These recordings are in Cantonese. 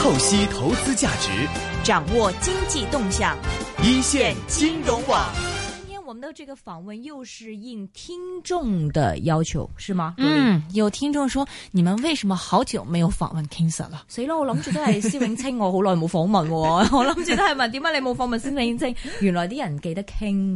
透析投資價值， 掌握經濟動向， 一線金融網。 我們的這個訪問又是應聽眾的要求，是嗎？ 有聽眾說，你們為什麼好久沒有訪問 King Sir 了？ 死啦！我諗住都係施永青，我好耐冇訪問，我諗住都係問點解你冇訪問施永青？原來啲人記得 King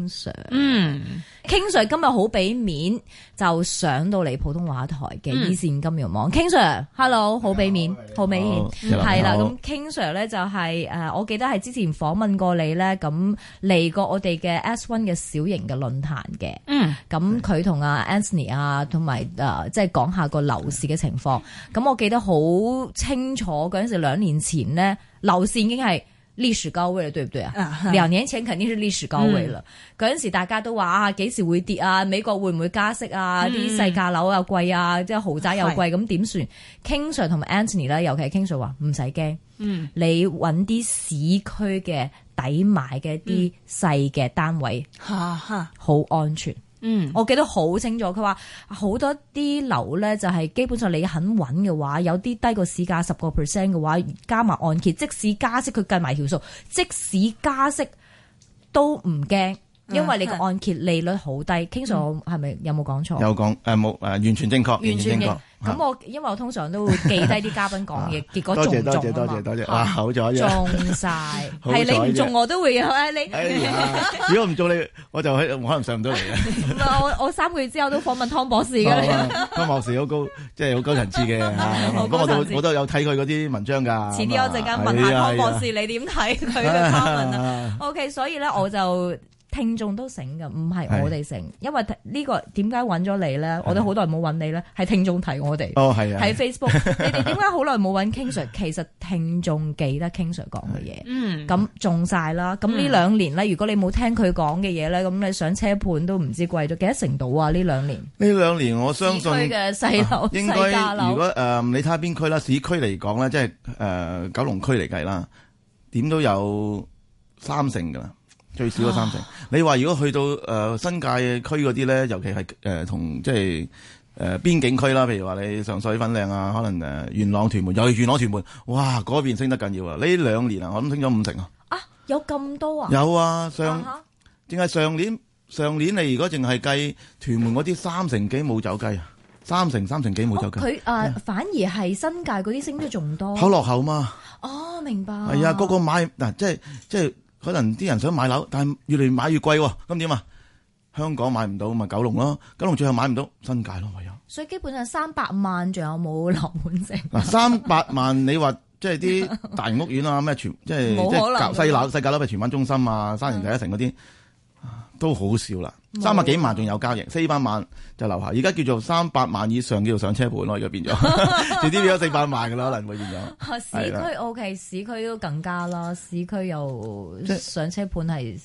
Sir。King Sir 今日好俾面，就上到嚟普通話台嘅一線金融網。King Sir，Hello， 好俾面，好俾面，係啦。咁 King Sir 咧就係我記得係之前訪問過你咧，咁嚟過我哋嘅 S1 嘅小型嘅論壇嘅。咁佢同阿 Anthony 啊，同埋即係講下個樓市嘅情況。咁我記得好清楚嗰陣時，2年前咧樓市已經係歷史高位了，對唔對啊？2年前肯定是歷史高位了。嗰陣時大家都話啊，幾時會跌啊？美國會唔會加息啊？啲細價樓又貴啊，即係豪宅又貴，咁點算？King Sir 同埋 Anthony 咧，尤其係 King Sir 話唔使驚，你揾啲市區嘅抵買嘅啲細嘅單位，好安全。我記得好清楚，佢話好多啲樓咧就係基本上你肯穩嘅話，有啲低過市價10% 嘅話，加埋按揭，即使加息佢計埋條數，即使加息都唔驚，因為你個按揭利率好低。King Sir 係咪有冇講錯？ 有講冇完全正確， 完全正確。咁因為我通常都會記低啲嘉賓講嘢，結果中唔中啊嘛？ 多謝，好咗， 中晒，係你唔中我都會有你。 如果唔中你，我就可能上唔到嚟嘅。 我3個月之後都訪問湯博士㗎。 湯博士好高，即係好高層次嘅。咁我都有睇佢嗰啲文章㗎。遲啲我陣間問下湯博士，你點睇佢嘅發文啊 ？OK， 所以咧我就。聽眾都醒㗎，唔係我哋醒，因為呢個點解揾咗你咧？我哋好耐冇揾你咧，係聽眾提我哋。係啊，喺 Facebook，你哋點解好耐冇揾 King Sir？其實聽眾記得 King Sir 講嘅嘢，咁中晒啦。咁呢2年咧，如果你冇聽佢講嘅嘢咧，咁你上車盤都唔知貴咗幾多成度啊？呢2年， 呢2年我相信市區嘅細樓、 應該如果你睇下邊區啦，市區嚟講咧，即係九龍區嚟計啦，點都有3成㗎啦。最少嘅3成。你話如果去到新界區嗰啲咧，尤其係同即係邊境區啦，譬如話你上水粉嶺啊，可能元朗屯門，又係元朗屯門，哇嗰邊升得緊要啊！呢2年啊，我諗升咗5成啊！ 啊，有咁多啊？ 有啊，淨係上年你如果淨係計屯門嗰啲3成幾冇走雞啊，3成幾冇走雞。 佢反而係新界嗰啲升得仲多。 好落後嘛？ 哦，明白。 係啊，個買嗱，即係。可能啲人想買樓，但係越嚟買越貴喎，咁點啊？香港買唔到，咪九龍咯。九龍最後買唔到，新界咯，唯有。 所以基本上300萬仲有冇樓盤剩？ 嗱，300萬你話即係啲大型屋苑啊，咩即係細價樓，譬如荃灣中心啊、沙田第一城嗰啲，都好少啦。300幾萬仲有交易，400萬就樓下。而家叫做300萬以上叫做上車盤咯，而家變咗，遲啲變咗400萬㗎啦，可能會變咗。 市區 OK， 市區都更加啦，市區又上車盤係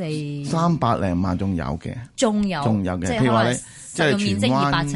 300零萬仲有嘅，仲有嘅。譬如話你即係荃灣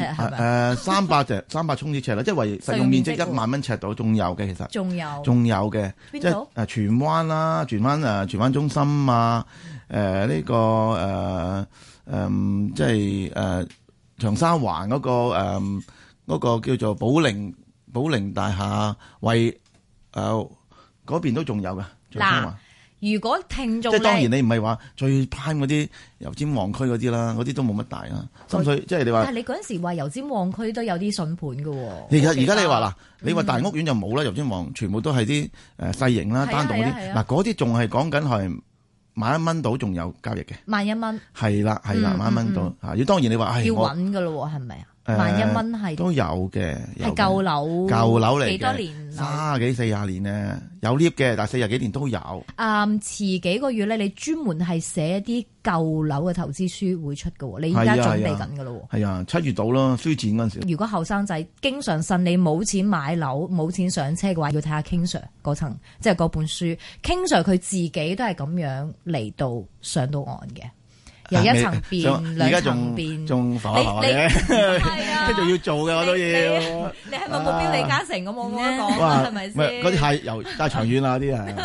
300衝啲尺啦，即係為實用面積1萬蚊尺度，仲有嘅其實。仲有嘅，即係荃灣啦，荃灣中心啊，呢個即係長沙灣嗰個叫做寶靈大廈，為嗰邊都仲有嘅。 嗱，如果聽眾即係當然你唔係話最 prime 嗰啲油尖旺區嗰啲啦，嗰啲都冇乜大啦。深水即係你話，但係你嗰陣時話油尖旺區都有啲筍盤嘅喎。 而家你話嗱，你話大屋苑就冇啦，油尖旺全部都係啲細型啦、單棟嗰啲。嗱，嗰啲仲係講緊係1蚊到仲有交易嘅。1蚊。係啦，1蚊到嚇。要當然你話要穩㗎咯喎，係咪啊？1蚊係都有嘅， 係舊樓嚟嘅，幾多年 ？30幾40年咧，有 lift 嘅，但係40幾年都有。 遲幾個月咧，你專門係寫一啲舊樓嘅投資書會出嘅喎，你而家準備緊嘅咯喎。係啊 ，7月到啦，書展嗰陣時。 如果後生仔經常呻你冇錢買樓、冇錢上車嘅話，要睇下 King Sir 嗰層，即係嗰本書。King Sir 佢自己都係咁樣嚟到上到岸嘅。 由一層變兩層變， 仲浮下嘅，即係仲要做嘅我都要。 你係咪目標李嘉誠咁我冇得講啊？係咪先？ 嗰啲太長遠啦，啲係。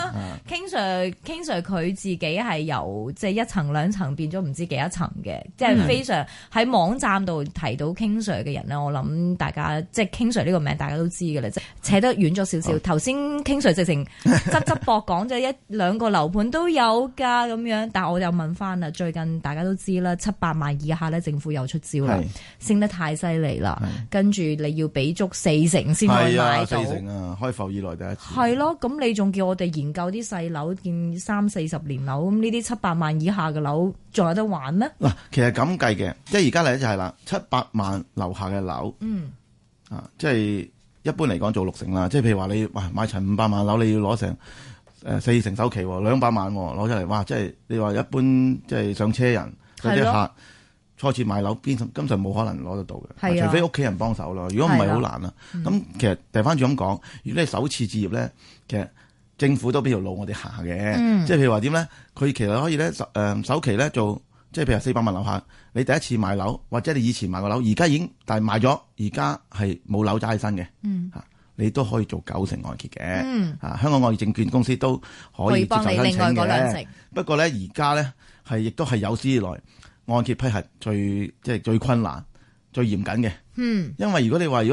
King Sir 佢自己係由即係一層兩層變咗唔知幾多層嘅，即係非常喺網站度提到 King Sir 嘅人咧，我諗大家即係 King Sir 呢個名大家都知嘅啦，即係扯得遠咗少少。頭先 King Sir 直情側側膊講咗一兩個樓盤都有㗎咁樣，但係我又問翻啦，最近大家都知啦，700萬以下咧，政府又出招啦，升得太犀利啦，跟住你要俾足4成先可以買到，4成啊， 開埠以來第一次。 係咯，咁你仲叫我哋研究啲細樓，見30-40年樓，咁呢啲700萬以下嘅樓仲有得玩咩？嗱， 其實咁計嘅，即係而家嚟就係啦，700萬樓下嘅樓，即係一般嚟講做6成啦。即係譬如話你買層500萬樓，你要攞成4成首期，200萬攞出嚟，哇！即係你話一般即係上車人嗰啲客初次買樓，根本冇可能攞得到嘅，除非屋企人幫手咯。如果唔係好難啦。咁其實掉翻轉咁講，如果你首次置業咧，其實政府都俾條路我哋行嘅。即係譬如話點咧，佢其實可以咧首期咧做，即係譬如400萬樓下，你第一次買樓或者你以前買過樓，而家已經但係賣咗，而家係冇樓揸起身嘅。你都可以做9成按揭嘅，香港按揭證券公司都可以接受申請嘅。可以幫你另外嗰2成。不過咧，而家咧亦都係有史以來按揭批核最困難、最嚴謹嘅。因為如果你話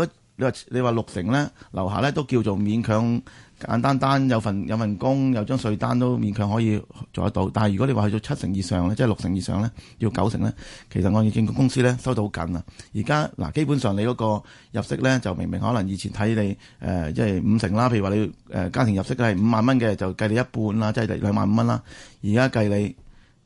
6成咧，樓下咧都叫做勉強簡單有份工，有張稅單都勉強可以做得到。但係如果你話去到7成以上咧，即係6成以上咧，要9成咧，其實按揭證券公司咧收到好緊啊。而家基本上你嗰個入息咧就明可能以前睇你即係5成啦，譬如話你家庭入息係5萬蚊嘅，就計你一半啦，即係25000蚊啦。而家計你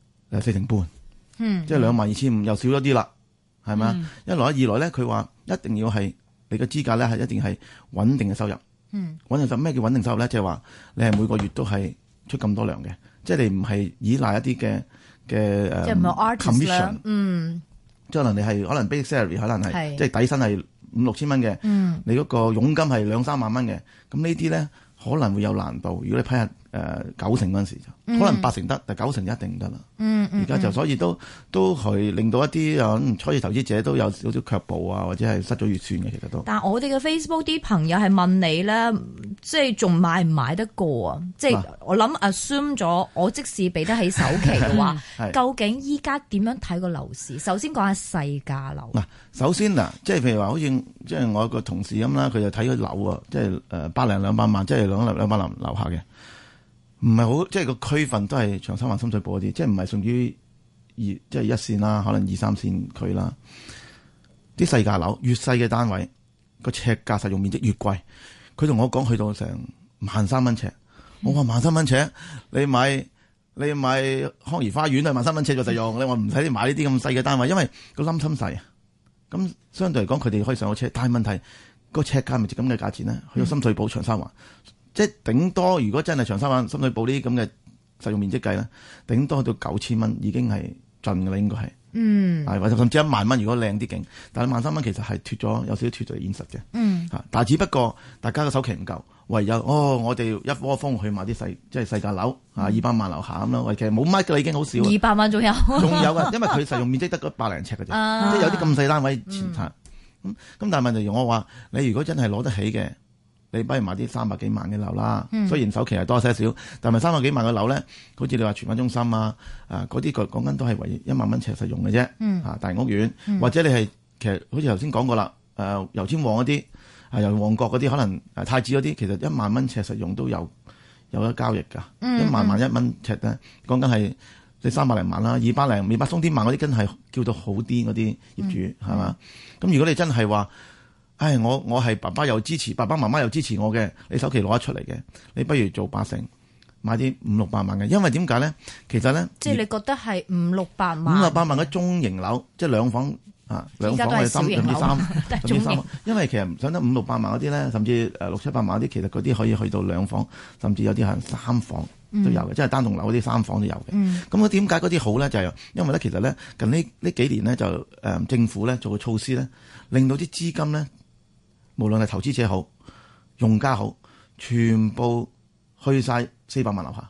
4成半，即係22500又少咗啲啦，係咪啊？一來二來咧，佢話一定要係你嘅資格咧係一定係穩定嘅收入。穩定收入咩叫穩定收入咧？即係話你係每個月都係出咁多糧嘅，即係你唔係依賴一啲嘅即係唔係 commission，即係可能你係可能 basic salary 可能係即係底薪係5-6千蚊嘅，你嗰個佣金係2-3萬蚊嘅，咁呢啲咧可能會有難度。如果你批下9成嗰陣時就可能8成得，但9成就一定唔得啦。而家就所以都係令到一啲初次投資者都有少少卻步啊，或者係失咗預算嘅，其實都。但係我哋嘅 Facebook 啲朋友係問你咧，即係仲買唔買得過啊？即係我諗 assume 咗，我即使俾得起首期嘅話，究竟依家點樣睇個樓市？首先講下細價樓。嗱，首先即係譬如話，好似即係我個同事咁啦，佢就睇咗樓啊，即係100-200萬，即係200萬樓下嘅。唔係好，即係個區份都係長沙灣、深水埗嗰啲，即係唔係屬於即係1線啦，可能2、3線區啦。啲細價樓越細嘅單位，個尺價實用面積越貴。佢同我講去到成13,000蚊尺，我話13,000蚊尺，你買康怡花園都係13,000蚊尺就實用。你話唔使你買呢啲咁細嘅單位，因為個冧心細啊。咁相對嚟講，佢哋可以上到車，但係問題個尺價咪值咁嘅價錢咧？去到深水埗、長沙灣。即係頂多，如果真係長沙灣、深水埗呢啲咁嘅實用面積計咧，頂多到9,000蚊已經係盡㗎啦，應該係。或者甚至1萬蚊，如果靚啲勁。但係13,000蚊其實係有少少脫離現實嘅。但係只不過大家嘅首期唔夠，唯有我哋一窩蜂去買啲即係細價樓200萬樓下咁咯。其實冇乜㗎啦，已經好少。200萬仲有㗎，因為佢實用面積得嗰100零尺嘅啫，即係有啲咁細單位前拆。咁但係問題我話你如果真係攞得起嘅。你不如買啲300幾萬嘅樓啦，雖然首期係多些少，但係300幾萬嘅樓咧，好似你話荃灣中心嗰啲講緊都係為1萬蚊尺實用嘅啫。大屋苑或者你係其實好似頭先講過啦，油尖旺嗰啲由旺角嗰啲可能太子嗰啲，其實1萬蚊尺實用都有得交易㗎。1萬1蚊尺咧，講緊係你300零萬啦，200鬆啲萬嗰啲，真係叫到好啲嗰啲業主係嘛？咁如果你真係話，我係爸爸又支持，爸爸媽媽又支持我嘅，你首期攞得出嚟嘅，你不如做8成，買啲500-600萬嘅，因為點解咧？其實咧，即係你覺得係500-600萬，500-600萬嘅中型樓，即係2房2房係3甚至3，因為其實想得500-600萬嗰啲咧，甚至600-700萬嗰啲，其實嗰啲可以去到2房，甚至有啲係3房都有嘅，即係單棟樓嗰啲3房都有嘅。咁點解嗰啲好咧？就係因為咧，其實咧近呢幾年咧就政府咧做個措施咧，令到啲資金咧。無論係投資者好，用家好，全部去晒400萬樓下，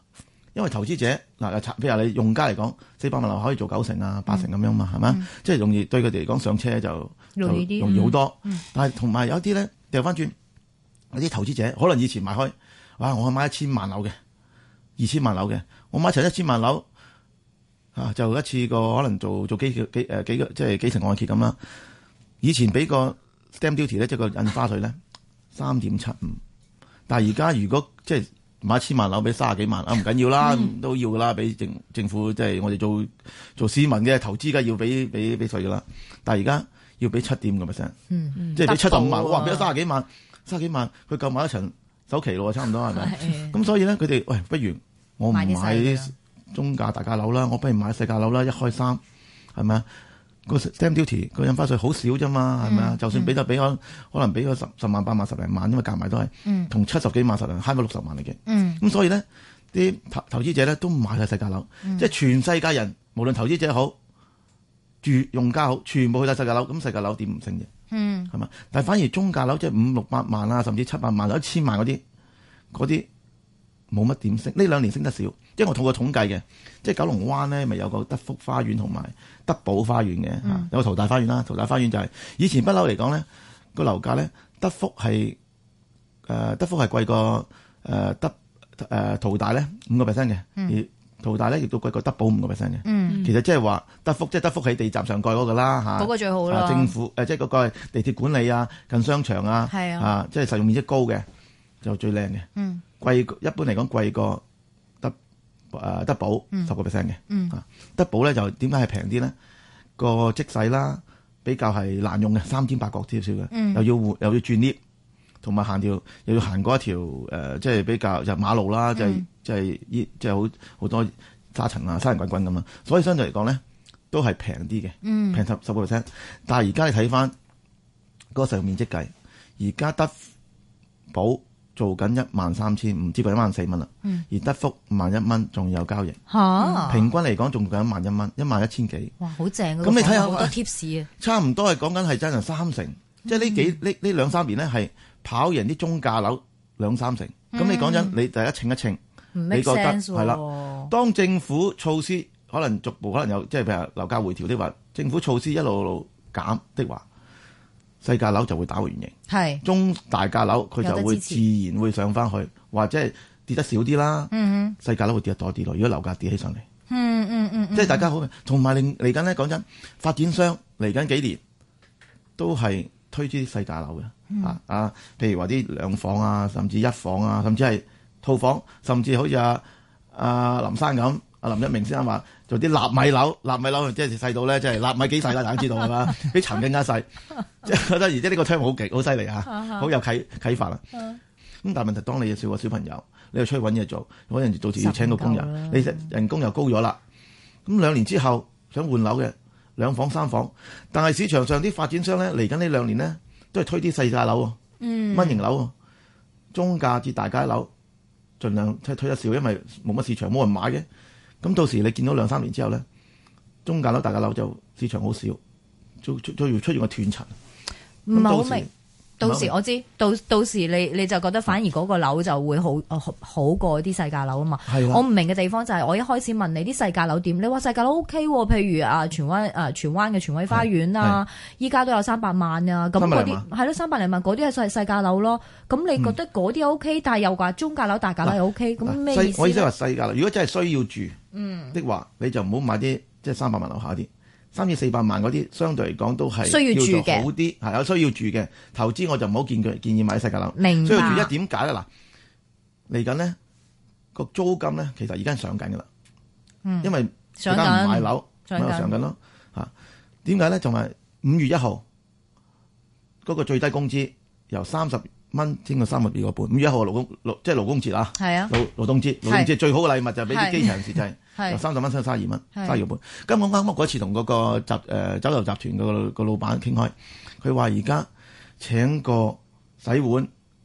因為投資者嗱，譬如你用家嚟講，400萬樓可以做9成啊、8成咁樣嘛，係咪？即係容易對佢哋嚟講上車就容易好多。但係同埋有啲咧掉翻轉，有啲投資者可能以前買開，哇！我買1000萬樓嘅、2000萬樓嘅，我買齊1000萬樓啊，就一次過可能做幾個即係幾成按揭咁啦。以前俾個 stamp duty 咧，即係個印花稅咧3.75，但係而家如果即係買1000萬樓俾30幾萬啊，唔緊要啦，都要噶啦，俾政府即係我哋做市民嘅投資，梗係要俾稅噶啦。但係而家要俾7.5%，即係俾75萬，哇！俾咗30幾萬，30幾萬佢夠買一層首期咯，差唔多係咪？咁所以咧，佢哋喂，不如我唔買中價大價樓啦，我不如買細價樓啦，1開3，係咪啊？個 stamp duty 個印花稅好少啫嘛，係咪啊？就算俾就俾可能俾個10萬8萬10零萬，因為夾埋都係同70幾萬10零慳咗60萬嚟嘅。咁所以咧，啲投資者咧都買晒細價樓，即係全世界人無論投資者好、用家好，全部去晒細價樓。咁細價樓點唔升啫？係嘛？但係反而中價樓即係500、600萬啊，甚至700萬、1000萬嗰啲冇乜點升。呢2年升得少，因為我做過統計嘅，即係九龍灣咧咪有個德福花園同埋德寶花園嘅，有個淘大花園啦。淘大花園就係以前不嬲嚟講咧，個樓價咧德福係貴過淘大咧5%嘅，而淘大咧亦都貴過德寶5%嘅。其實即係話德福喺地站上蓋嗰個啦嚇， 嗰個最好啦。 政府即係嗰個地鐵管理啊，近商場啊，即係實用面積高嘅就最靚嘅。貴一般嚟講貴過德寶10%嘅。德寶咧就點解係平啲咧？個積細啦，比較係難用嘅，3尖8角少少嘅，又要轉 lift， 同埋又要行過一條即係比較就馬路啦，即係好多沙塵啊、沙塵滾滾咁啊，所以相對嚟講咧都係平啲嘅，平10%。但係而家你睇翻嗰個實用面積計，而家德寶做緊13000，唔知過14000蚊啦。而德福51000蚊，仲有交易。平均嚟講仲緊11000蚊，11000幾。哇， 好正！ 咁你睇下好多 tips 啊。差唔多係講緊係真係3成，即係呢2-3年咧係跑贏啲中價樓2-3成。咁你講真，你大家稱一稱，你覺得係啦？當政府措施可能逐步可能有，即係譬如樓價回調的話，政府措施一路減的話，細價樓就會打回原形，係中大價樓佢就會自然會上翻去，或者係跌得少啲啦。細價樓會跌得多啲咯。如果樓價跌起上嚟，即係大家好。同埋嚟緊咧，講真，發展商嚟緊幾年都係推啲細價樓嘅。譬如話啲2房啊，甚至1房啊，甚至係套房，甚至好似阿林生咁。阿林一鳴先生話做啲納米樓即係細到咧，即係納米幾細啦，大家知道係嘛？比塵更加細，即係覺得而家呢個 term 好犀利嚇，好有啟發啦。咁但係問題，當你少個小朋友，你又出去揾嘢做，可能到時要請個工人，你人工又高咗啦。咁2年之後想換樓嘅2房3房，但係市場上啲發展商咧嚟緊呢2年咧都係推啲細價樓喎，蚊型樓喎，中價至大價樓，盡量推得少，因為冇乜市場，冇人買嘅。咁到時你見到2-3年之後咧，中價樓、大價樓就市場好少，再要出現個斷層。 唔係好明，到時我知，到時你就覺得反而嗰個樓就會好過啲細價樓啊嘛。我唔明嘅地方就係我一開始問你啲細價樓點，你話細價樓 OK 喎，譬如荃灣嘅荃威花園啊，依家都有300萬啊，咁嗰啲係咯300零萬，嗰啲係細價樓咯。咁你覺得嗰啲 OK，但係又話中價樓、大價樓又 OK，咁咩意思？ 我意思係話細價樓，如果真係需要住的話，你就唔好買啲即係300萬樓下啲。300至400萬嗰啲，相對嚟講都係需要住嘅，好啲係有需要住嘅投資，我就唔好建議買細價樓。 明白。 需要住點解咧？嗱，嚟緊呢個租金咧，其實而家上緊噶啦，因為大家唔買樓，咪又上緊咯嚇。點解咧？仲係5月1號嗰個最低工資由30蚊升到32個半。5月1號即係勞工節啊，係啊，勞動節最好嘅禮物就係俾啲基層人士就係。由30蚊升到32蚊，32個半。咁我啱嗰次同嗰個酒樓集團個老闆傾開，佢話而家請個洗碗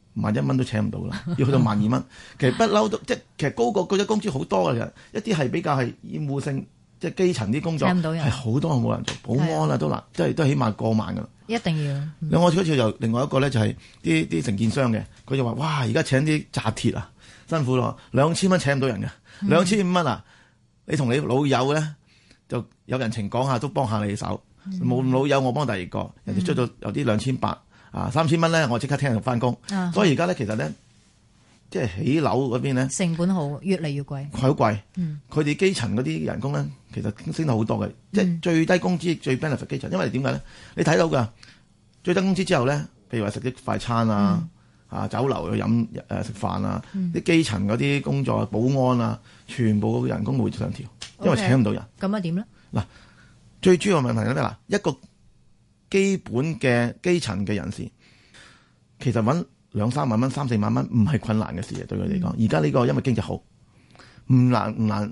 1蚊都請唔到啦，要去到12,000蚊。其實不嬲都即係其實高過嗰啲工資好多嘅，一啲係比較係厭惡性， 即係基層啲工作係好多冇人做，保安啊都難，即係都起碼過萬㗎啦。 一定要。 另外嗰次就另外一個咧就係啲承建商嘅，佢就話：哇！而家請啲紮鐵啊，辛苦咯，2000蚊請唔到人嘅，2500蚊啊！你同你老友咧就有人情講下，都幫下你手。冇老友我幫第二個，人哋出到有啲2800啊，3000蚊咧我即刻聽日翻工。所以而家咧其實咧。即係起樓嗰邊咧， 成本好越嚟越貴， 好貴。佢哋基層嗰啲人工咧，其實升到好多嘅。即係最低工資最 benefit 基層，因為點解咧？你睇到㗎最低工資之後咧，譬如話食啲快餐啊、酒樓去飲食飯啊，啲基層嗰啲工作保安啊，全部人工會上調，因為請唔到人。 咁啊點咧？嗱， 最主要嘅問題係咩？嗱，一個基本嘅基層嘅人士，其實揾2-3萬蚊、3-4萬蚊唔係困難嘅事嘅，對佢嚟講。而家呢個因為經濟好，唔難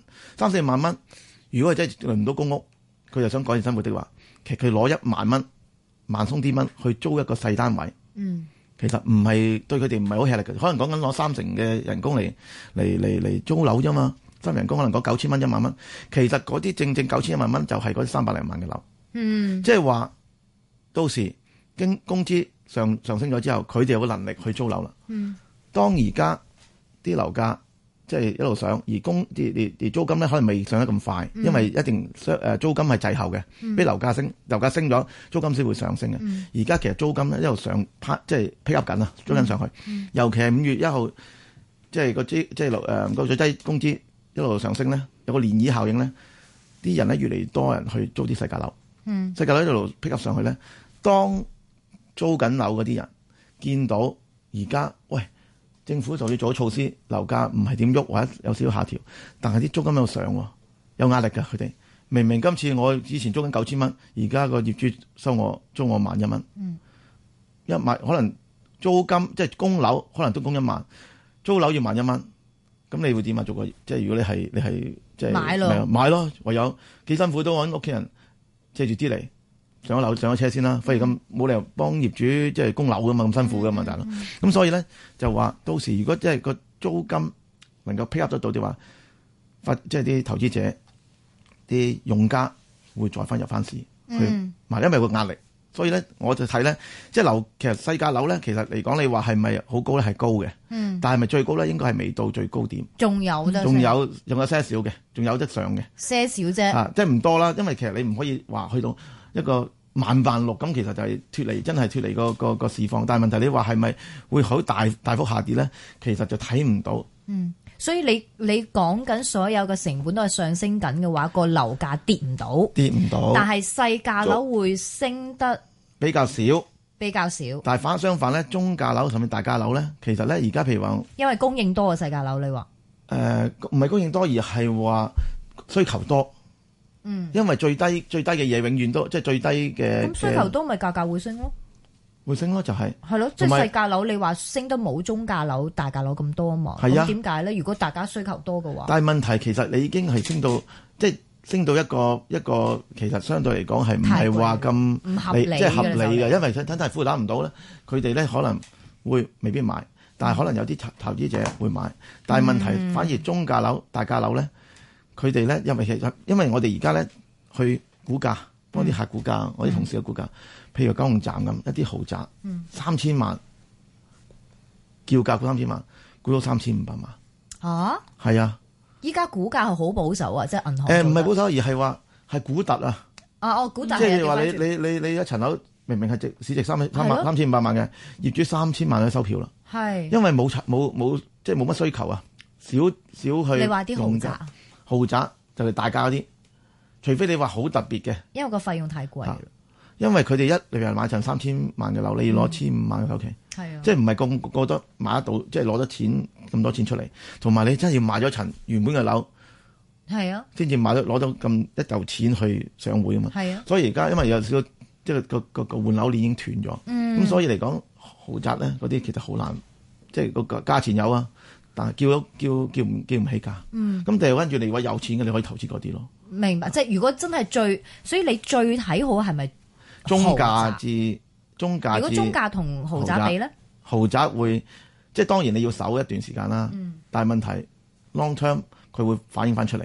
3-4萬蚊。如果係真係輪唔到公屋，佢又想改善生活的話，其實佢攞1萬蚊、萬鬆啲蚊去租一個細單位，其實唔係對佢哋唔係好吃力嘅。可能講緊攞3成嘅人工嚟租樓啫嘛，新人工可能講9000蚊、1萬蚊。其實嗰啲正9000、1萬蚊就係嗰啲300零萬嘅樓。即係話到時經工資上升咗之後，佢哋有個能力去租樓啦。當而家啲樓價即係一路上，而租金咧可能未上得咁快，因為一定租金係滯後嘅，俾樓價升咗，租金先會上升嘅。而家其實租金咧一路上即係 pick up 緊啊，租緊上去。尤其係5月1號，即係個最低工資一路上升咧，有個漣漪效應咧，啲人咧越嚟越多人去租啲細價樓。細價樓一路 pick up 上去咧，當租緊樓嗰啲人見到而家喂政府就要做措施，樓價唔係點喐或者有少少下調，但係啲租金有上喎，有壓力㗎佢哋。明明今次我以前租緊9000蚊，而家個業主租我11000蚊，一萬可能租金即係供樓可能都供1萬，租樓要11000蚊，咁你會點啊？做個即係如果你係即係買咯，唯有幾辛苦都揾屋企人借住啲嚟。上咗樓上咗車先啦，費事咁冇理由幫業主即係供樓噶嘛，咁辛苦噶嘛，大佬。咁所以咧就話到時如果即係個租金能夠 pick up 得到嘅話，即係啲投資者、啲用家會再翻入翻市去買，因為個壓力。所以咧我就睇咧，即係樓其實細價樓咧，其實嚟講你話係咪好高咧？係高嘅，但係咪最高咧？應該係未到最高點，仲有些少嘅，仲有得上嘅， 些少啫。 即係唔多啦，因為其實你唔可以話去到一個16000咁，其實就係真係脫離個市況。但係問題你話係咪會好大幅下跌咧？其實就睇唔到。 所以你講緊所有嘅成本都係上升緊嘅話，個樓價跌唔到。但係細價樓會升得比較少。 但係相反咧，中價樓甚至大價樓咧，其實咧而家譬如話，因為供應多嘅細價樓，你話唔係供應多，而係話需求多。因為最低嘅嘢永遠都即係最低嘅。 咁需求多咪價格會升咯？ 會升咯，就係咯，即係細價樓你話升得冇中價樓、大價樓咁多啊嘛。咁點解咧？如果大家需求多嘅話， 但係問題其實你已經係升到即係升到一個其實相對嚟講係唔係話咁唔合理， 即係合理嘅，因為真係負擔唔到咧，佢哋咧可能未必買，但係可能有啲投資者會買。但係問題反而中價樓、大價樓咧，佢哋咧因為我哋而家咧去估價，幫啲客估價，我啲同事嘅估價。譬如九龍站咁一啲豪宅，3000萬叫價估3000萬，估到3500萬。係啊！ 依家估價係好保守啊，即係銀行。 唔係保守，而係話係估突啊！ 估突即係話你一層樓明明係市值3500萬嘅，業主3000萬去收票啦。係因為冇即係冇乜需求啊，少去。你話啲豪宅就係大價嗰啲，除非你話好特別嘅，因為個費用太貴。因為佢哋例如買層3000萬嘅樓，你要攞1500萬嘅首期，即係唔係個都買得到，即係攞得錢咁多錢出嚟，同埋你真係要賣咗層原本嘅樓，先至攞到咁一嚿錢去上會啊嘛。所以而家因為有少少即係個換樓鏈已經斷咗，咁所以嚟講豪宅咧嗰啲其實好難，即係個價錢有啊，但係叫唔起價。咁掉跟住你話有錢嘅，你可以投資嗰啲咯。 明白，即係如果真係所以你最睇好係咪？ 中價至。如果中價同豪宅比咧， 豪宅會即係當然你要守一段時間啦。但係問題 long term 佢會反映翻出嚟，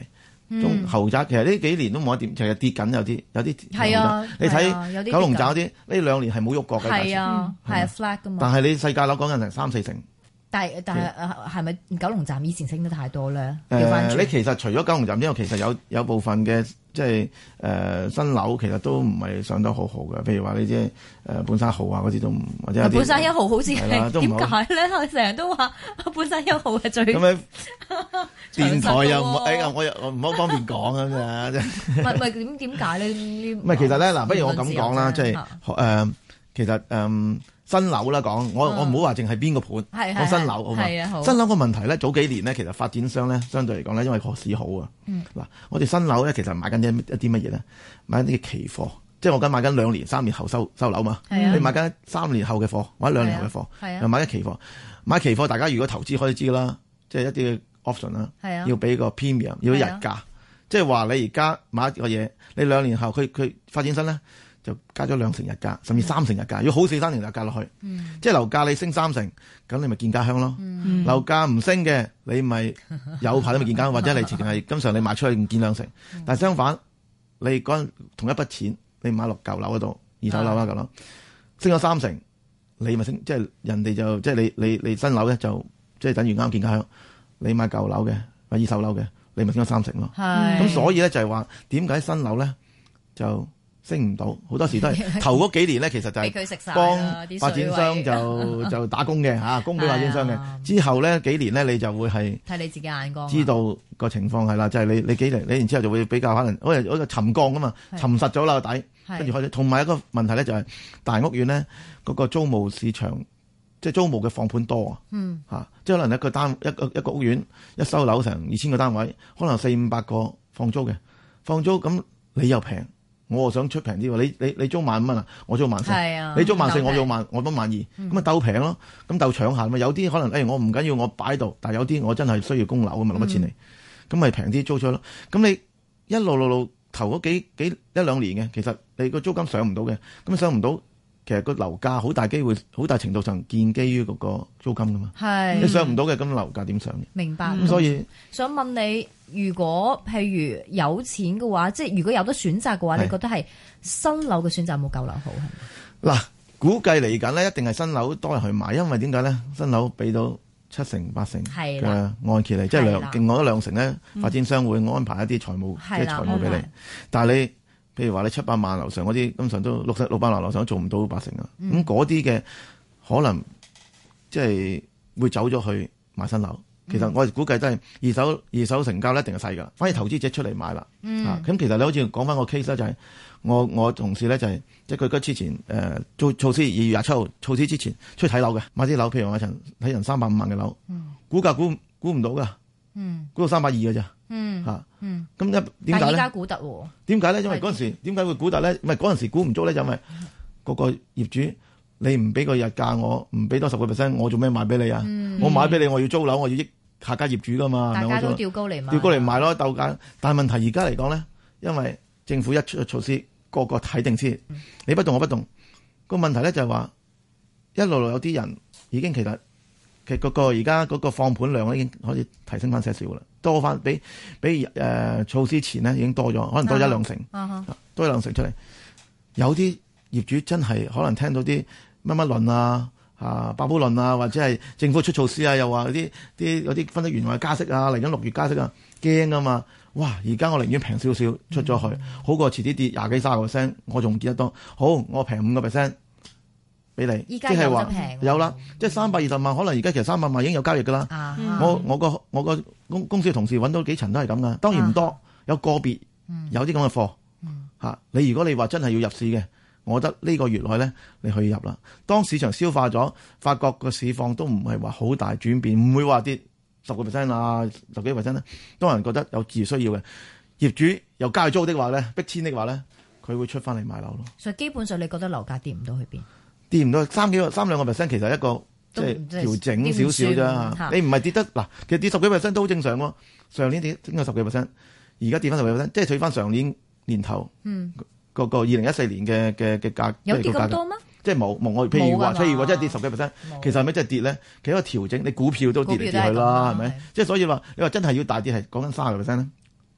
中豪宅其實呢幾年都冇一點，其實跌緊有啲係啊， 你睇九龍站嗰啲呢2年係冇喐過嘅， 係啊，係 flat 噶嘛。 但係你世界樓講緊成3-4成。 但係係咪九龍站以前升得太多咧？ 你其實除咗九龍站之外，其實有部分嘅即係新樓其實都唔係上得好好嘅，譬如話你即係半山豪啊嗰啲都唔，或者半山一號好似係點解咧？我成日都話半山一號係最咁樣電台又我唔好方便講啊啫。 唔係點解咧？ 唔係其實咧嗱，不如我咁講啦，即係其實新樓啦講，我唔好話淨係邊個盤，講新樓好嘛？新樓個問題咧，早幾年咧，其實發展商咧，相對嚟講咧，因為個市好啊。嗱，我哋新樓咧，其實買緊一啲乜嘢咧？買緊啲期貨，即係我緊買緊2年、3年後收樓嘛。你買緊3年後嘅貨，或者2年後嘅貨，又買緊期貨。買期貨，大家如果投資可以知啦，即係一啲 option 啦，要俾個 premium，要日價，即係話你而家買一個嘢，你2年後佢發展商咧。就加咗2成日價，甚至3成日價，要好似3成日價落去。即係樓價你升3成，咁你咪見家鄉咯。樓價唔升嘅，你咪有排都未見家鄉，或者你直情係經常你賣出去見2成。但係相反，你嗰同一筆錢，你買落舊樓嗰度，二手樓啦舊樓，升咗3成，你咪升，即係人哋就即係你新樓咧就即係等於啱見家鄉。你買舊樓嘅買二手樓嘅，你咪升咗3成咯。咁所以咧就係話點解新樓咧就升唔到，好多時都係頭嗰幾年咧，其實就係幫發展商就打工嘅嚇，供俾發展商嘅。之後咧幾年咧，你就會係睇你自己眼光， 知道個情況係啦，就係你幾年，你然之後就會比較可能好似沉降噶嘛，沉實咗啦個底，跟住開始。同埋一個問題咧就係大屋苑咧嗰個租務市場，即係租務嘅放盤多啊，即係可能一個屋苑一收樓成2000個單位，可能400-500個放租嘅，放租咁你又平。我又想出平啲喎，你租15,000啊，我租14,000，你租14,000，我租我都12,000，咁咪鬥平咯，咁鬥搶下嘛。有啲可能我唔緊要，我擺喺度，但係有啲我真係需要供樓咁咪攞乜錢嚟，咁咪平啲租出咯。咁你一路頭嗰1-2年嘅，其實你個租金上唔到嘅，咁上唔到，其實個樓價好大機會，好大程度上建基於嗰個租金噶嘛。你上唔到嘅，咁樓價點上？ 明白。 咁所以想問你。如果譬如有錢嘅話，即係如果有得選擇嘅話，你覺得係新樓嘅選擇冇舊樓好係咪？嗱， 估計嚟緊呢，一定係新樓多人去買，因為點解咧？新樓俾到7成8成嘅按揭嚟，即係另外2成咧，發展商會安排一啲財務即係財務俾你。但係你譬如話你700萬樓上嗰啲，基本上都600萬樓上都做唔到8成啊。咁嗰啲嘅可能即係會走咗去買新樓。其實我哋估計都係二手成交一定係細㗎，反而投資者出嚟買啦。咁其實你好似講翻個 case 咧，就係我同事咧就係即係佢之前做措施2月27號措施之前出去睇樓嘅，買啲樓，譬如話睇人350萬嘅樓，估價估唔到㗎，估到320㗎咋。咁點解咧？ 而家估得喎？ 點解咧？因為嗰陣時點解會估得咧？唔係嗰陣時估唔足咧，就因為個業主。你唔俾個日價，我唔俾多10%，我做咩賣俾你啊？我買俾你，我要租樓，我要益下家業主噶嘛。 大家都調高嚟賣咯，鬥價。但係問題而家嚟講咧，因為政府一出措施，個個睇定先。你不動我不動。個問題咧就係話，一路有啲人已經其實嗰個而家嗰個放盤量已經可以提升翻些少啦，多翻比措施前咧已經多咗，可能多1-2成，多1-2成出嚟。有啲業主真係可能聽到啲乜論啊、爆煲論啊，或者係政府出措施啊，又話有啲分析員話加息啊，嚟緊6月加息啊，驚啊嘛！哇！而家我寧願平少少出咗去，好過遲啲跌20幾30%，我仲見得多。好，我平5%俾你， 依家有得平， 有啦，即係320萬，可能而家其實300萬已經有交易噶啦。我個公司嘅同事揾到幾層都係咁噶，當然唔多，有個別有啲咁嘅貨。你如果你話真係要入市嘅。我覺得呢個月內咧，你可以入啦。當市場消化咗，發覺個市況都唔係話好大轉變，唔會話跌10% 啊、10幾%咧。當人覺得有自需要嘅業主又加租的話咧，逼遷的話咧，佢會出翻嚟買樓咯。 所以基本上你覺得樓價跌唔到去邊？ 跌唔到3-2%，其實一個即係調整少少啫。你唔係跌得嗱，其實跌10幾%都好正常喎。上年跌升咗10幾%，而家跌翻10幾%，即係取翻上年年頭。個2014年嘅價有跌咁多咩？ 即係冇我譬如話真係跌10幾%，其實係咪真係跌咧？其實一個調整，你股票都跌嚟跌去啦，係咪？即係所以話你話真係要大跌係講緊30%咧，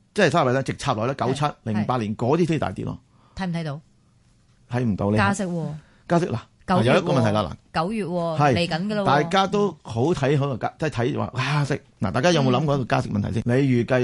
即係3%直插落咧97、08年嗰啲先大跌咯。 睇唔睇到？ 睇唔到你加息嗱，有一個問題啦，嗱 9月嚟緊㗎啦， 大家都好睇好個即係睇話加息。嗱，大家有冇諗過一個加息問題先？你預計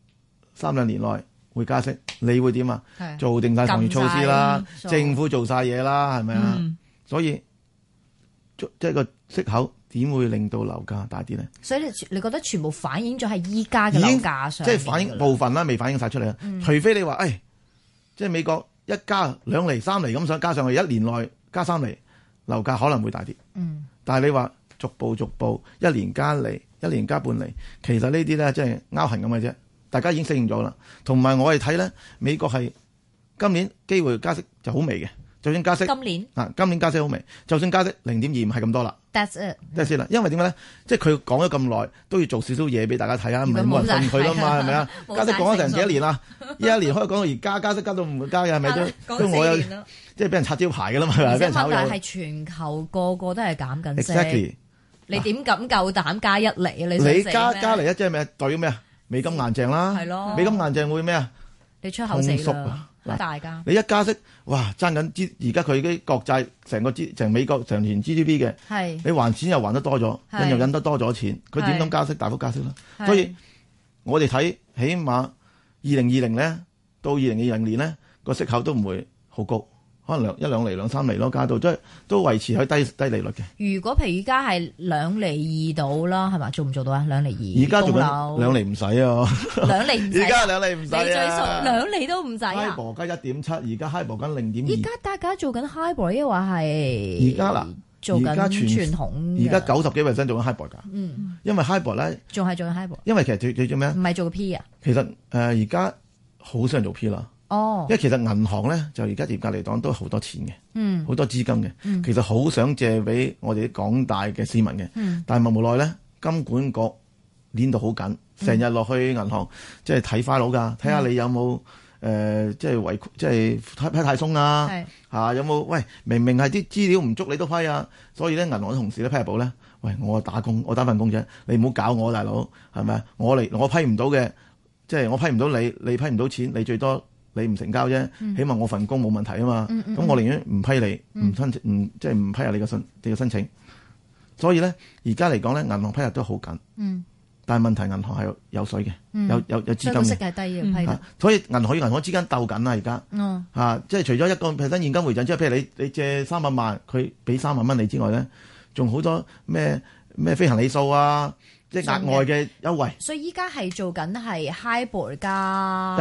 3-2年內會加息，你會點啊？做定晒防疫措施啦，政府做晒嘢啦，係咪啊？所以即係個息口點會令到樓價大跌咧？ 所以你覺得全部反映咗喺依家嘅樓價上， 即係反映部分啦，未反映晒出嚟啊。除非你話即係美國一加2厘、3厘咁想加上去，1年內加3厘。樓價可能會大跌，但係你話逐步1年加厘，1年加半厘，其實呢啲咧即係拗痕咁嘅啫。大家已經適應咗啦。同埋我哋睇咧，美國係今年機會加息就好微嘅，就算加息今年加息好微，就算加息0.25係咁多啦。That's it 啦，因為點解咧？即係佢講咗咁耐，都要做少少嘢俾大家睇下，唔係冇人信佢啦嘛，係咪啊？加息講咗成幾多年啦？一年可以講到而家加息加到唔會加嘅，係咪都我有即係俾人擦招牌㗎啦嘛，係咪？俾人炒咗。係全球個個都係減緊息。Exactly， 你點敢夠膽加1厘啊？你加嚟即係咩？對咩啊？美金硬淨啦，係咯，美金硬淨會咩啊？你出口死啦！大家你一加息，哇，爭緊而家佢啲國債成美國成年 GDP 嘅，你還錢又還得多咗，印又印得多咗錢，佢點敢加息大幅加息啦？所以我哋睇起碼2020咧到2020年咧個息口都唔會好高，可能1-2厘、2-3厘咯，加到即係都維持喺低利率嘅。如果譬如而家係2.2厘到啦，係嘛？做唔做到啊？2.2厘？而家做緊2厘唔使啊，2厘唔使。而家2厘唔使啊，你最熟2厘都唔使啊。HIBOR 加1.7，而家 HIBOR 緊0.2。而家大家做緊 HIBOR，抑或係而家嗱做緊傳統。而家90幾%做緊 HIBOR 㗎。因為 HIBOR 咧仲係做緊 HIBOR。因為其實最做咩？唔係做 P 啊。其實而家好少人做 P 啦。因為其實銀行咧就而家嚴格嚟講都好多錢嘅，好多資金嘅，其實好想借俾我哋啲廣大嘅市民嘅，但係無奈咧金管局捏到好緊，成日落去銀行即係睇file㗎，睇下你有冇即係即係批太鬆啊，有冇喂明明係啲資料唔足你都批啊，所以咧銀行嘅同事咧批入簿咧，喂我打份工啫，你唔好搞我大佬係咪啊？我批唔到嘅，即係我批唔到你批唔到錢，你最多。你唔成交啫，起碼我份工冇問題啊嘛。咁我寧願唔批你，唔申請，即係唔批下你嘅申請。所以咧，而家嚟講咧，銀行批入都好緊。但係問題銀行係有水嘅，有資金嘅。息係低嘅批。所以銀行與銀行之間鬥緊啦，而家。即係除咗1%現金回贈，即係譬如你借300萬，佢俾3萬蚊你之外咧，仲好多咩飛行里數啊。即係額外嘅優惠，所以依家係做緊係 HIBOR 加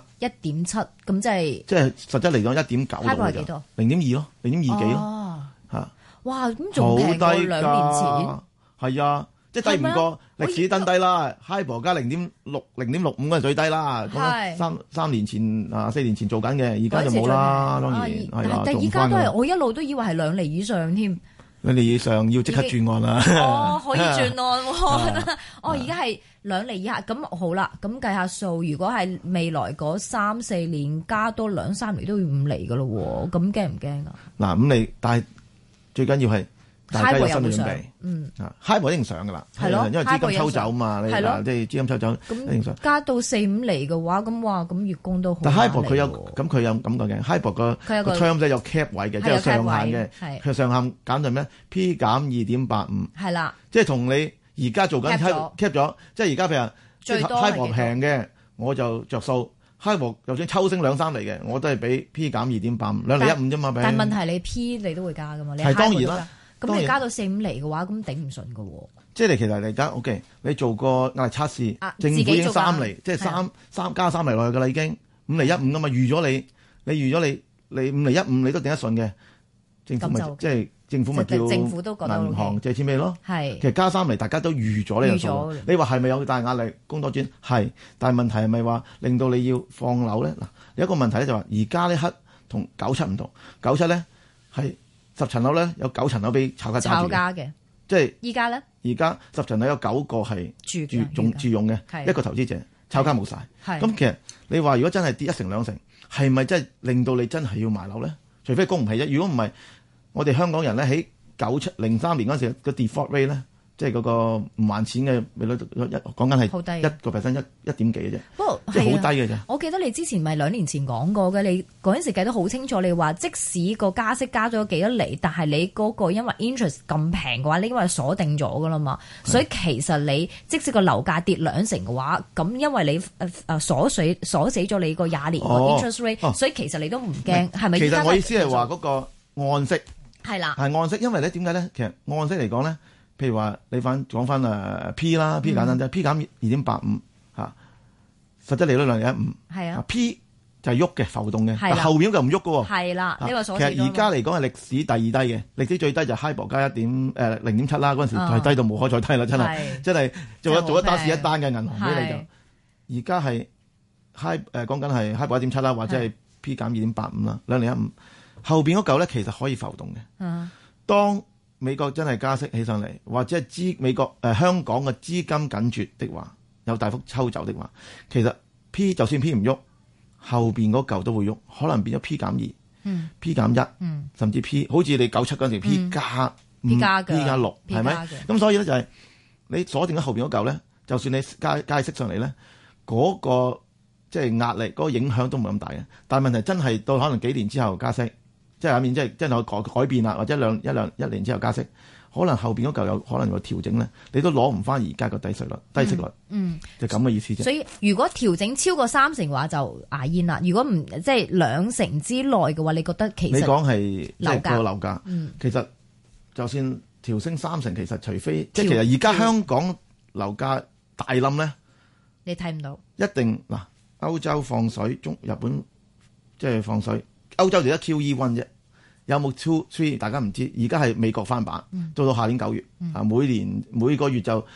1.7，咁即係實質嚟講1.9。HIBOR 係幾多？0.2咯，0.2幾咯嚇。哇！咁仲平過2年前。係啊，即係低唔過歷史新低啦。HIBOR 加0.6、0.65嗰係最低啦。咁3年前4年前做緊嘅，而家就冇啦。當然係啦，但係而家都係我一路都以為係2厘以上添。2厘以上要即刻轉案啦！可以轉案喎！而家係2厘以下，咁好啦。咁計下數，如果係未來嗰3-4年加多2-3厘都要5厘噶咯喎，咁驚唔驚啊？嗱，5厘，但係最緊要係大家有心理準備。HIBOR 一定上噶啦，係咯，因為資金抽走嘛，你即係資金抽走，一定上。加到4-5厘嘅話，咁月供都好。但 HIBOR 佢有咁嘅 HIBOR 個 term 咧有 cap 位嘅，即係有上限嘅。佢上限減到咩 ？P 減2.85。係啦，即係同你而家做緊 cap 咗，即係而家譬如最多 HIBOR 平嘅，我就着數。HIBOR 就算抽升2-3厘嘅，我都係俾 P 減2.85，2厘1.5啫嘛。但係問題你 P 你都會加噶嘛？係當然啦。咁你加到4-5厘嘅話，咁頂唔順噶喎。即係你其實而家 OK，你做個壓力測試，政府已經3厘，即係加3厘落去噶啦，已經5厘1.5噶嘛。預咗你預咗你5厘1.5你都頂得順嘅，政府咪即係政府咪叫銀行借錢俾你咯。係，其實加3厘大家都預咗呢個數。你話係咪有大壓力供多轉？係，但係問題係咪話令到你要放樓咧？嗱，有一個問題咧就話而家呢刻同97唔同，97咧係。10層樓咧有9層樓俾炒家嘅，即係依家咧。而家10層樓有9個係住用嘅，一個投資者，炒家冇晒。咁其實你話如果真係跌1成2成，係咪真係令到你真係要賣樓咧？除非供唔起啫。如果唔係，我哋香港人咧喺03年嗰陣時個 default rate 咧即係嗰個唔還錢嘅利率，講緊係1%，1.點幾嘅啫， 不過即係好低嘅啫。 我記得你之前咪2年前講過嘅，你嗰陣時計得好清楚，你話即使個加息加咗幾多厘，但係你嗰個因為 interest 咁平嘅話，你因為鎖定咗噶啦嘛，所以其實你即使個樓價跌2成嘅話，咁因為你鎖死咗你個20年個 interest rate，所以其實你都唔驚，係咪？ 其實我意思係話嗰個按息係啦， 係按息，因為咧點解咧？其實按息嚟講咧。譬如話你講翻P 啦，P 簡單啲，P 減2.85嚇，實質利率2.15，係啊 ,P 就係喐嘅浮動嘅，但後面就唔喐嘅喎。係啦，呢個所謂。其實而家嚟講係歷史第2低嘅，歷史最低就 HIBOR 加0.7啦，嗰陣時係低到無可再低啦，真係做咗打市一單嘅銀行俾你就。而家係講緊係 HIBOR 1.7啦，或者係 P 減2.85啦，2.15，後邊嗰嚿咧其實可以浮動嘅。當美國真係加息起上嚟，或者係香港嘅資金緊絕的話，有大幅抽走的話，其實 P 就算 P 唔喐，後邊嗰嚿都會喐，可能變咗 P 減2、P 減1，甚至 P 好似你97嗰陣時 P 加5、P 加6，係咪？咁所以咧就係你鎖定咗後邊嗰嚿咧，就算你加息上嚟咧，嗰個即係壓力、嗰個影響都唔係咁大嘅。但係問題真係到可能幾年之後加息。即係下面即係真係改變啦，或者一年之後加息，可能後邊嗰嚿有可能有調整咧，你都攞唔翻而家個低息率，就咁嘅意思啫。所以如果調整超過3成嘅話，就牙煙啦。如果唔即係2成之內嘅話，你覺得其實你講係即係個樓價，其實就算調升3成，其實除非即係其實而家香港樓價大冧咧， 你睇唔到一定嗱，歐洲放水，日本即係放水。歐洲就得 QE1 啫，有冇 2、3大家唔知。而家係美國翻版，做到下年9月，每個月就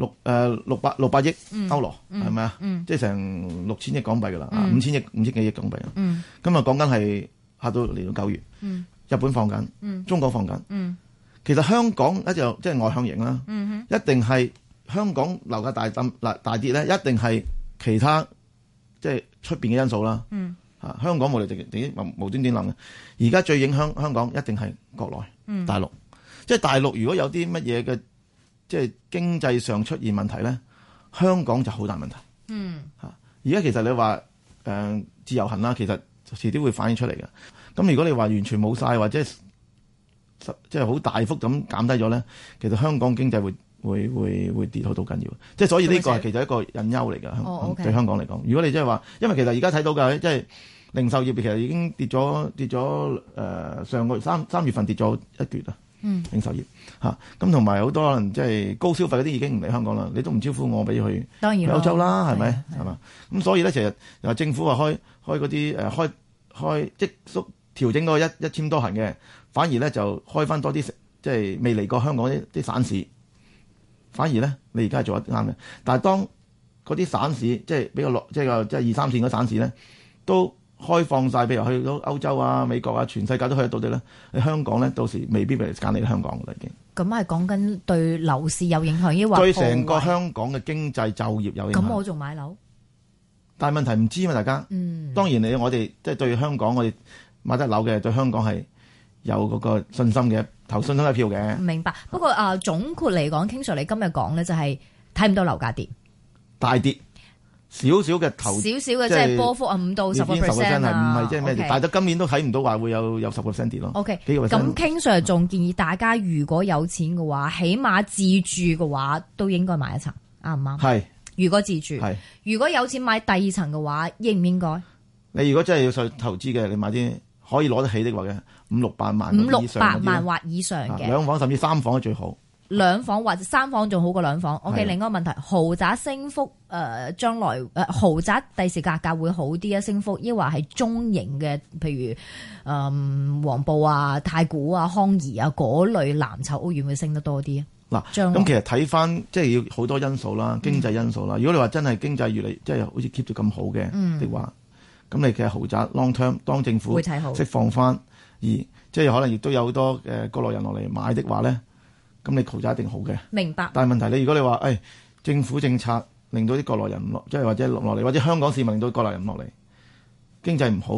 600億歐羅，係咪啊？即係成6000億港幣噶啦，5千幾億港幣。咁啊講緊係下到嚟到9月，日本放緊，中國放緊。其實香港就即係外向型啦，一定係香港樓價大跌咧，一定係其他即係出邊嘅因素啦。香港冇嚟無端端諗嘅，而家最影響香港一定係國內大陸，即係大陸如果有啲乜嘢嘅即係經濟上出現問題咧，香港就好大問題。而家其實你話自由行啦，其實遲啲會反映出嚟嘅。咁如果你話完全冇晒或者即係好大幅咁減低咗咧，其實香港經濟會跌好到緊要。即係所以呢個係其實一個隱憂嚟㗎，對香港嚟講。如果你即係話，因為其實而家睇到㗎，即係零售業其實已經跌咗上個月3月份跌咗1橛啊。零售業咁同埋好多可能即係高消費嗰啲已經唔嚟香港啦，你都唔招呼我俾去歐洲啦，係咪？係嘛？咁所以咧，其實又政府話開嗰啲開即縮調整嗰1000多行嘅，反而咧就開翻多啲即係未嚟過香港啲省市，反而咧你而家係做得啱嘅。但係當嗰啲省市即係比較落即係2、3線嗰省市咧都開放晒，譬如去到歐洲啊、美國啊，全世界都去得到啲咧。你香港咧，到時未必俾你揀嚟香港㗎啦，已經。咁係講緊對樓市有影響，抑或對成個香港嘅經濟就業有影響。咁我仲買樓，但係問題唔知嘛，大家。當然我哋即係對香港，我哋買得樓嘅對香港係有嗰個信心嘅，投信心一票嘅。明白。不過總括嚟講，King Sir你今日講咧就係睇唔到樓價跌，大跌。少少嘅即係波幅5到10%係唔係即係咩？但係到今年都睇唔到話會有10%跌咯。OK，咁 King Sir 仲建議大家如果有錢嘅話，起碼自住嘅話都應該買一層，啱唔啱？係。如果自住，係。如果有錢買第2層嘅話，應唔應該？你如果真係要去投資嘅，你買啲可以攞得起的話嘅500-600萬500-600萬或以上嘅2房甚至3房最好。2房或者3房仲好過2房。OK，另一個問題，豪宅升幅將來豪宅第時價格會好啲啊？升幅抑或係中型嘅，譬如黃埔啊、太古啊、康怡啊嗰類藍籌屋苑會升得多啲啊？嗱，咁其實睇翻即係要好多因素啦，經濟因素啦。如果你話真係經濟越嚟即係好似 keep 住咁好嘅的話，咁你其實豪宅 long term 當政府釋放翻，而即係可能亦都有好多國內人落嚟買的話咧。咁你豪宅一定好嘅，明白。但係問題你如果你話，政府政策令到啲國內人唔落，即係或者落嚟，或者香港市民令到國內人唔落嚟，經濟唔好嘅，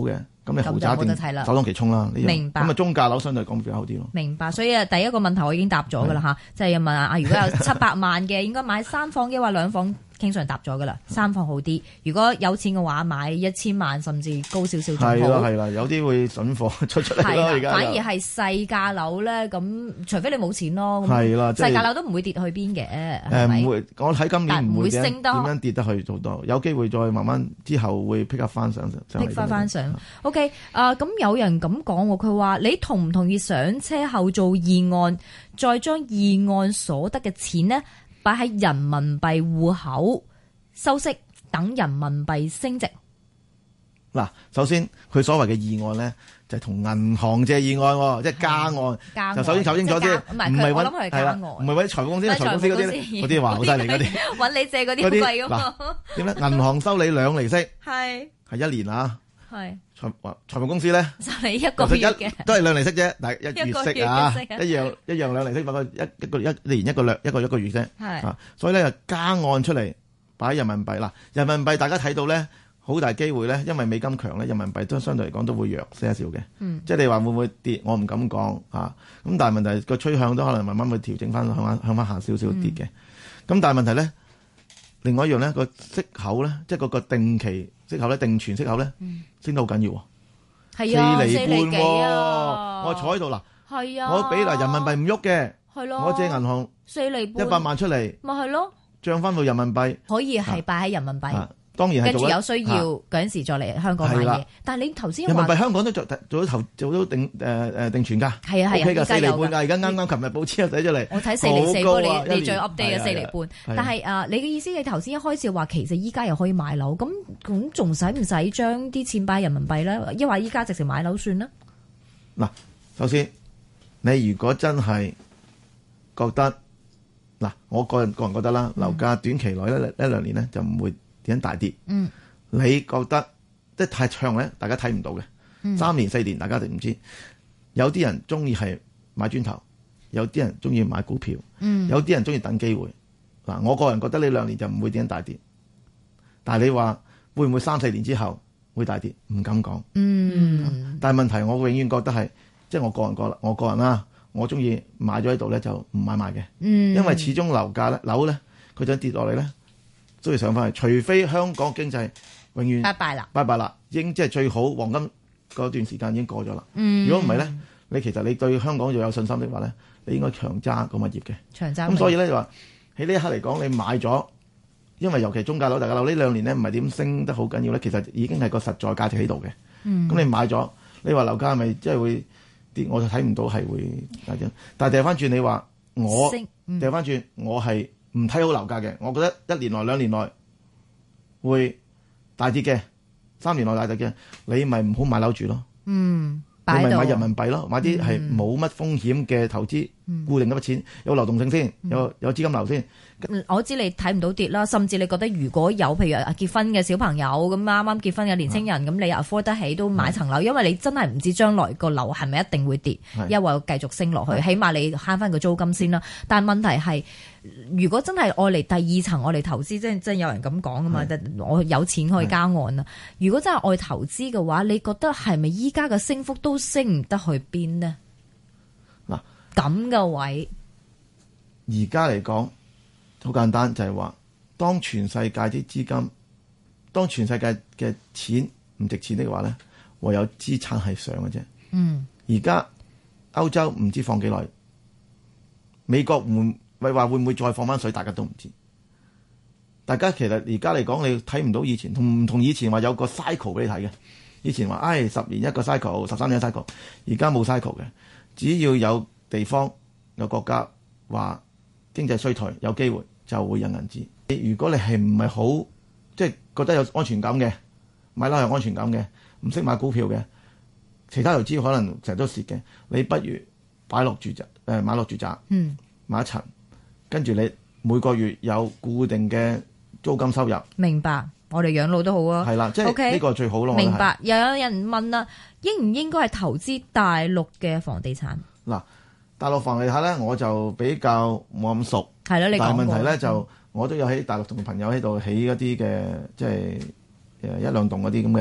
咁你豪宅一定首當其衝啦。 明白。 咁中價樓相對嚟講比較好啲咯。 明白。所以第一個問題我已經答咗㗎啦嚇，即係問啊，如果有700萬嘅，應該買3房嘅話2房？經常答咗噶啦，3房好啲。如果有錢嘅話，買1000萬甚至高少少仲好。 係啦，有啲會筍貨出嚟咯。而家反而係細價樓咧，咁除非你冇錢咯。 係啦， 細價樓都唔會跌去邊嘅。 唔會，我睇今年唔會升得點樣跌得去好多，有機會再慢慢之後會 pick up 翻上。 pick 翻上。OK，咁有人咁講喎，佢話你同唔同意上車後做議案，再將議案所得嘅錢呢，擺喺人民幣戶口收息，等人民幣升值。 嗱，首先佢所謂嘅議案咧，就係同銀行借議案，即係加案。就首先搞清楚先，唔係我諗佢係加案， 唔係揾啲財務公司、財務公司嗰啲話好犀利嗰啲， 揾你借嗰啲貴噶嘛。 點咧？銀行收你2厘息， 係 1年啊。 係財務公司咧， 收你1個月嘅， 都係2厘息啫，但係1月息啊，一樣2厘息，不過一年一個月啫。係，所以咧就加按出嚟擺人民幣啦。人民幣大家睇到咧，好大機會咧，因為美金強咧，人民幣都相對嚟講都會弱些少嘅。即係你話會唔會跌，我唔敢講啊。咁但係問題個趨向都可能慢慢會調整翻向翻下少少跌嘅。咁但係問題咧，另外一樣咧個息口咧，即係嗰個定期息口咧，定存息口咧，升得好緊要喎。係啊，4厘幾啊！我坐喺度啦，係啊，我俾人民幣唔喐嘅，係咯，我借銀行 4厘半 100萬出嚟， 咪係咯， 漲翻到人民幣，可以係擺喺人民幣。 當然係跟住有需要嗰陣時再嚟香港買嘢，但係你頭先人民幣香港都做咗定存㗎，係啊，4厘半㗎，而家啱啱琴日報紙又寫出嚟， 我睇4厘4，不過你最 update 嘅4厘半，但係你嘅意思你頭先一開始話其實依家又可以買樓，咁仲使唔使將啲錢擺人民幣咧？抑或依家直情買樓算啦？ 嗱，首先你如果真係覺得嗱，我個人覺得啦，樓價短期內呢1-2年咧就唔會點大跌？你覺得即係太長咧，大家睇唔到嘅。3年4年，大家就唔知。有啲人中意係買磚頭，有啲人中意買股票，有啲人中意等機會。嗱，我個人覺得呢2年就唔會點大跌。但係你話會唔會3-4年之後會大跌？唔敢講。但係問題，我永遠覺得係即係我個人啦，我中意買咗喺度咧就唔買賣嘅。因為始終樓咧，佢想跌落嚟咧。都要上翻去，除非香港經濟永遠拜拜啦，已經即係最好黃金嗰段時間已經過咗啦。如果唔係咧，其實你對香港又有信心的話咧，你應該長揸個物業嘅。長揸。咁所以咧就話喺呢一刻嚟講，你買咗，因為尤其中價樓、大價樓呢2年咧唔係點升得好緊要咧，其實已經係個實在價值喺度嘅。咁你買咗，你話樓價係咪即係會跌？我就睇唔到係會大跌。但係掉翻轉，你話我掉翻轉，我係唔睇好樓價嘅，我覺得1年內2年內會大跌嘅，3年內大跌嘅，你咪唔好買樓住咯。你咪買人民幣咯，買啲係冇乜風險嘅投資，固定一筆錢，有流動性先，有資金流先。 我知你睇唔到跌啦，甚至你覺得如果有譬如結婚嘅小朋友咁啱啱結婚嘅年青人，咁你 afford 得起都買層樓，因為你真係唔知將來個樓係咪一定會跌，因為繼續升落去，起碼你慳翻個租金先啦。但係問題係，如果真係愛嚟第2層愛嚟投資，即係有人咁講噶嘛，我有錢可以加按啦。如果真係愛投資嘅話，你覺得係咪依家嘅升幅都升唔得去邊呢？嗱，咁嘅位而家嚟講。好簡單，就係話，當全世界啲資金，當全世界嘅錢唔值錢的話咧，唯有資產係上嘅啫。而家歐洲唔知放幾耐，美國會唔會再放翻水，大家都唔知。大家其實而家嚟講，你睇唔到以前唔同以前話有個 cycle 俾你睇嘅。以前話10年一個 cycle，13年一個 cycle， 而家冇 cycle 嘅。只要有地方有國家話經濟衰退，有機會就會印銀紙。如果你係唔係好即係覺得有安全感嘅，買樓有安全感嘅，唔識買股票嘅，其他投資可能成日都蝕嘅，你不如買落住宅，買一層，跟住你每個月有固定嘅租金收入。 明白，我哋養老都好啊。係啦， 即係呢個最好咯。 明白。又有人問啦，應唔應該係投資大陸嘅房地產？ 嗱。大陸房地產咧，我就比較冇咁熟。 係咯，你講過。 但係問題咧就，我都有喺大陸同朋友喺度起一啲嘅，即係1-2棟嗰啲咁嘅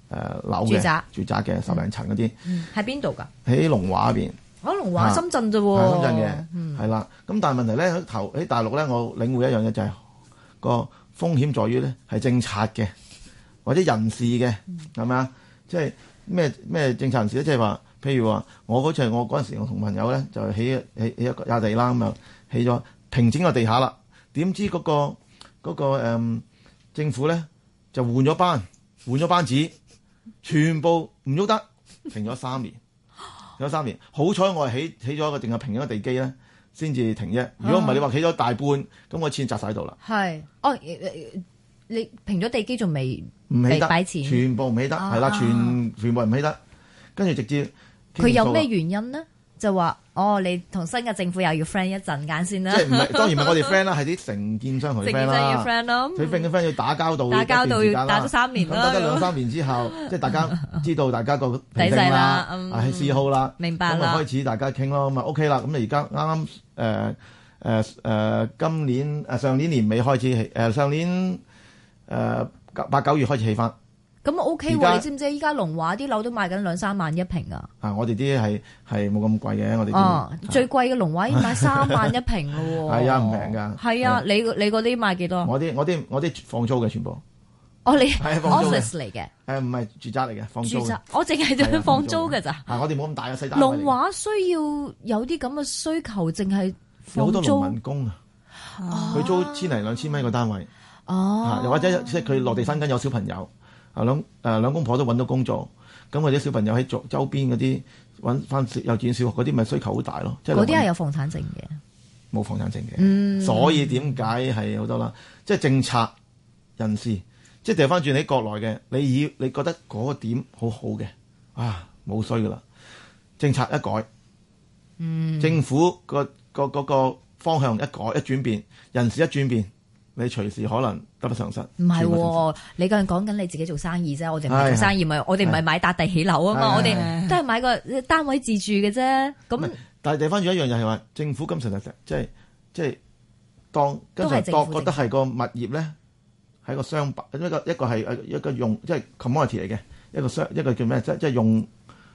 樓嘅住宅嘅10零層嗰啲。 喺邊度㗎？ 喺龍華嗰邊。 龍華深圳啫喎。 深圳嘅，係啦。咁但係問題咧喺大陸咧，我領會一樣嘢就係個風險在於咧係政策嘅或者人事嘅，係咪啊？即係咩政策人士咧？即係話，譬如話我嗰陣時，我同朋友咧就起一個亞地啦，咁就起咗平整個地下啦。點知嗰個政府咧就換咗班子，全部唔喐得，停咗3年。有3年，好彩我係起咗一個定係平咗個地基咧，先至停啫。如果唔係你話起咗大半，咁我錢砸晒喺度啦。係， 你平咗地基仲未唔起得， 擺錢全部唔起得，係啦，全部唔起得。跟住直接佢有咩原因呢？就話你同新嘅政府又要 friend 一陣間先啦。 即係唔係當然唔係我哋 friend 啦，係啲承建商同佢 friend 啦。承建商要 friend 咯。佢 friend 要打交道要打咗3年啦。 咁得2-3年之後，即係大家知道大家個底細啦，係嗜好啦， 明白啦。 咁開始大家傾咯，咁啊 OK 啦。咁你而家啱啱今年上年年尾開始起，上年8、9月開始起翻。 咁 OK 喎，你知唔知依家龍華啲樓都賣緊2-3萬一平啊？ 我哋啲係冇咁貴嘅，我哋最貴嘅龍華已經賣3萬一平咯喎。 係啊，唔平㗎。 係啊，你嗰啲賣幾多？ 我啲放租嘅全部。 你 office 嚟嘅？ 唔係住宅嚟嘅，放租。 我淨係就放租㗎咋。 我哋冇咁大嘅細單位。 龍華需要有啲咁嘅需求，淨係有好多農民工啊，佢租1000零2000蚊一個單位。又或者即係佢落地生根有小朋友。兩公婆都揾到工作，咁或者小朋友喺周邊嗰啲揾翻幼稚園小學嗰啲，咪需求好大咯。 嗰啲係有房產證嘅， 冇房產證嘅，所以點解係好多啦？即係政策人士，即係掉翻轉喺國內嘅，你覺得嗰個點好好嘅冇衰噶啦，政策一改，政府個方向一改一轉變，人事一轉變。你隨時可能得不償失。唔係，你個人講緊你自己做生意啫，我哋唔係做生意，我哋唔係買笪地起樓啊嘛，我哋都係買個單位自住嘅啫。咁但係地翻轉一樣就係話，政府今時即係當跟住覺得係個物業咧，係個商品，一個係一個用即係 commodity 嚟嘅，一個叫咩？即係用。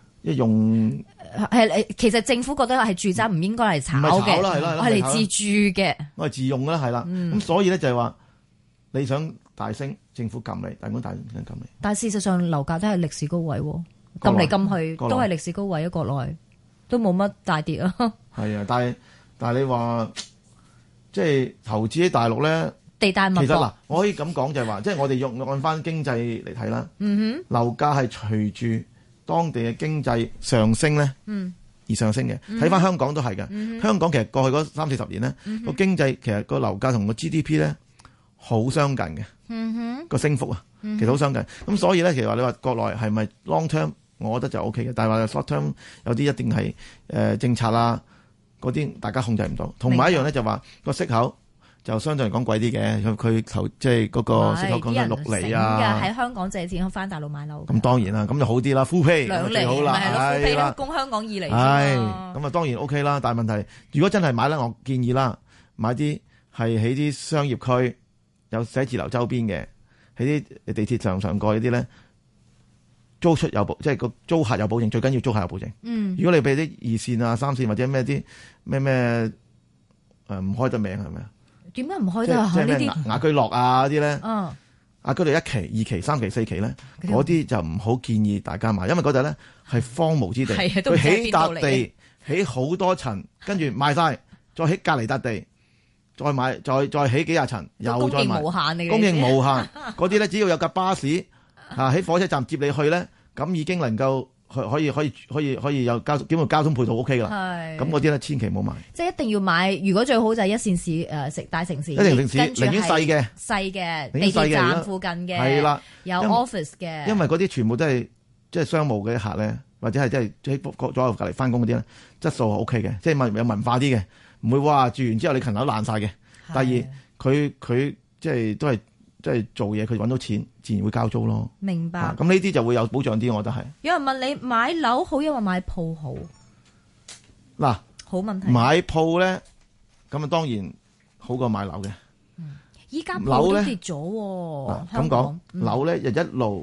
其實政府覺得係住宅唔應該嚟炒嘅，係嚟自住嘅， 我係自用啦，係啦。咁所以咧就係話你想大升，政府撳你，但係大升撳你。 但係事實上樓價都係歷史高位，撳嚟撳去都係歷史高位，國內都冇乜大跌啊。 係啊，但係你話即係投資喺大陸咧， 地大物博。 其實我可以咁講就係話，即係我哋按翻經濟嚟睇啦。樓價係隨住當地嘅經濟上升咧，而上升嘅。睇翻香港都係嘅。香港其實過去嗰30-40年咧，個經濟其實個樓價同個 GDP 咧好相近嘅，個升幅啊，其實好相近。咁所以咧，其實話你話國內係咪 long term， 我覺得就 OK 嘅。但係話 short term 有啲一定係政策啦，嗰啲大家控制唔到。同埋一樣咧就話個息口。就相對嚟講貴啲嘅，佢即係嗰個息口講緊6厘啊！ 喺香港借錢翻大陸買樓。 咁當然啦，咁就好啲啦，full pay 2厘好啦， 係full pay供香港2厘。 係咁啊，當然 OK 啦。但係問題，如果真係買咧，我建議啦，買啲係喺啲商業區有寫字樓周邊嘅，喺啲地鐵上過嗰啲咧，租出有保，即係個租客有保證，最緊要租客有保證。如果你俾啲2線啊、3線或者咩啲咩唔開得名係咪啊？ 點解唔開得啊？ 即係咩雅居樂啊嗰啲咧？雅居樂1期、2期、3期、4期咧，嗰啲就唔好建議大家買，因為嗰度咧係荒蕪之地，佢起笪地，起好多層，跟住賣晒，再起隔離笪地，再買，再起幾廿層，又再賣，供應無限。嗰啲咧只要有架巴士喺火車站接你去咧，咁已經能夠。可以有交通配套 OK 噶啦，咁嗰啲咧千祈唔好買。即係一定要買，如果最好就係1線市食大城市，寧願細嘅地鐵站附近嘅，係啦，有 office 嘅。因為嗰啲全部都係即係商務嘅客咧，或者係即係喺左右隔離翻工嗰啲咧，質素係 OK 嘅，即係有文化啲嘅，唔會話住完之後你層樓爛晒嘅。第二，佢即係都係。即係做嘢，佢揾到錢，自然會交租咯。明白。咁呢啲就會有保障啲，我覺得係。有人問你買樓好，因為買鋪好。嗱，好問題。買鋪咧，咁啊當然好過買樓嘅。依家鋪都跌咗喎。咁講，樓咧就一路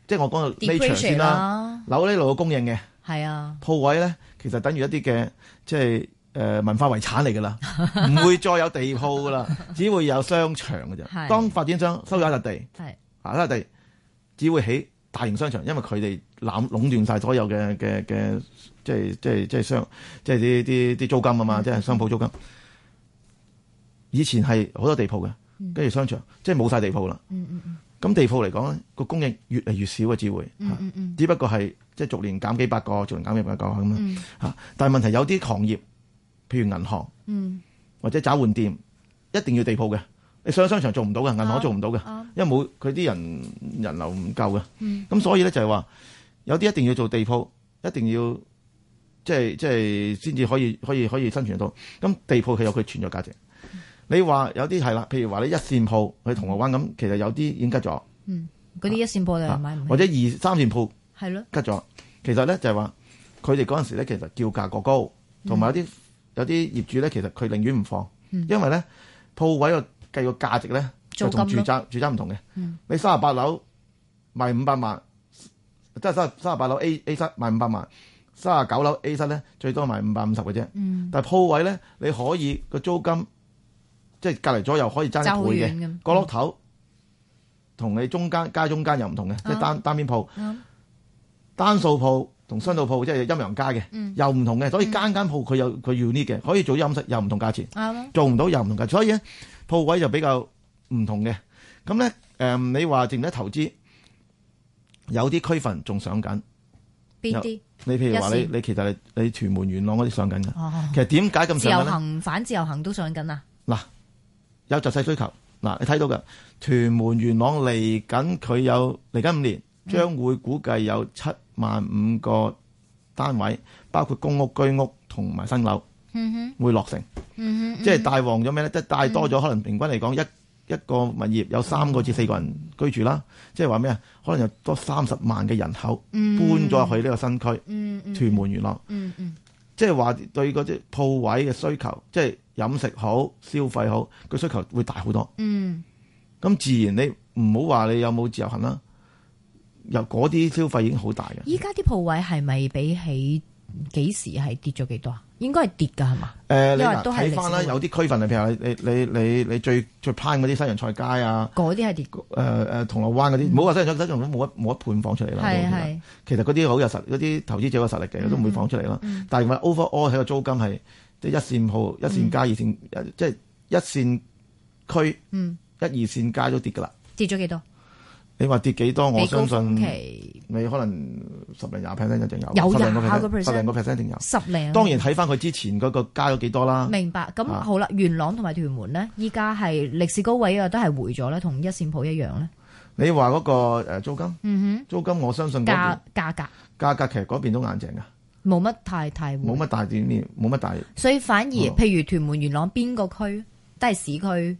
即係我講到呢場先啦，樓呢度嘅供應嘅係啊， 鋪位咧其實等於一啲嘅即係文化遺產嚟㗎啦，唔會再有地鋪㗎啦，只會有商場㗎啫。當發展商收咗一笪地，一笪地只會起大型商場，因為佢哋壟斷晒所有嘅即係商即係啲租金啊嘛，即係商鋪租金。以前係好多地鋪嘅，跟住商場即係冇晒地鋪啦。咁地鋪嚟講咧，個供應越嚟越少嘅只會，只不過係即係逐年減幾百個，逐年減幾百個咁樣嚇。但係問題有啲行業，譬如銀行，或者找換店，一定要地鋪嘅。你上商場做唔到嘅，銀行做唔到嘅，因為冇佢啲人流唔夠嘅。咁所以咧就係話，有啲一定要做地鋪，一定要即係先至可以生存到。咁地鋪佢有佢存在價值。你話有啲係啦，譬如話你一線鋪去銅鑼灣咁，其實有啲已經吉咗。 嗰啲一線鋪你買唔起， 或者2、3線鋪係咯吉咗。其實咧就係話，佢哋嗰陣時咧其實叫價過高，同埋有啲業主咧其實佢寧願唔放，因為咧鋪位個計個價值咧就同住宅唔同嘅。你38樓賣500萬，即係38樓 A 室賣500萬，39樓 A 室咧最多賣550嘅啫。但係鋪位咧你可以個租金。即係隔離左右可以爭一倍嘅，角落頭同你中間街中間又唔同嘅，即係單邊鋪，單數鋪同雙數鋪即係陰陽街嘅，又唔同嘅，所以間鋪佢要呢嘅，可以做飲食又唔同價錢，做唔到又唔同價錢，所以咧鋪位就比較唔同嘅。咁咧你話淨係投資，有啲區份仲上緊， 邊啲？ 你譬如話你其實你屯門元朗嗰啲上緊嘅，其實點解咁上緊？ 自由行反自由行都上緊啊！ 嗱。有實際需求嗱，你睇到嘅屯門元朗嚟緊，佢有嚟緊5年，將會估計有75000個單位，包括公屋、居屋同埋新樓，會落成。即係帶旺咗咩咧？即係帶多咗，可能平均嚟講一個物業有3個至4個人居住啦。即係話咩啊？可能有多30萬嘅人口搬咗去呢個新區，屯門元朗。即係話對嗰啲鋪位嘅需求，即係飲食好、消費好，個需求會大好多。咁自然你唔好話你有冇自由行啦，由嗰啲消費已經好大嘅。 依家啲鋪位係咪比起幾時係跌咗幾多啊？應該係跌㗎係嘛？ 你睇翻啦，有啲區份啊，譬如你最 prime 嗰啲西洋菜街啊， 嗰啲係跌。 銅鑼灣嗰啲，唔好話西洋菜街，冇一盤放出嚟啦。係。其實嗰啲好有實，嗰啲投資者有實力嘅，都唔會放出嚟啦。但係話 overall 喺個租金係即係一線鋪、一線街、二線，即係一線區、1、2線街都跌㗎啦。 跌咗幾多？ 你話跌幾多？我相信你可能10零20% 一定有， 有 10零個 percent 一定有。 10零。當然睇翻佢之前嗰個加咗幾多啦。 明白。咁好啦，元朗同埋屯門咧，依家係歷史高位啊，都係回咗咧，同一線鋪一樣咧。你話嗰個租金，租金我相信價格其實嗰邊都硬淨㗎， 冇乜太冇乜大點面，冇乜大。 所以反而譬如屯門元朗邊個區都係市區。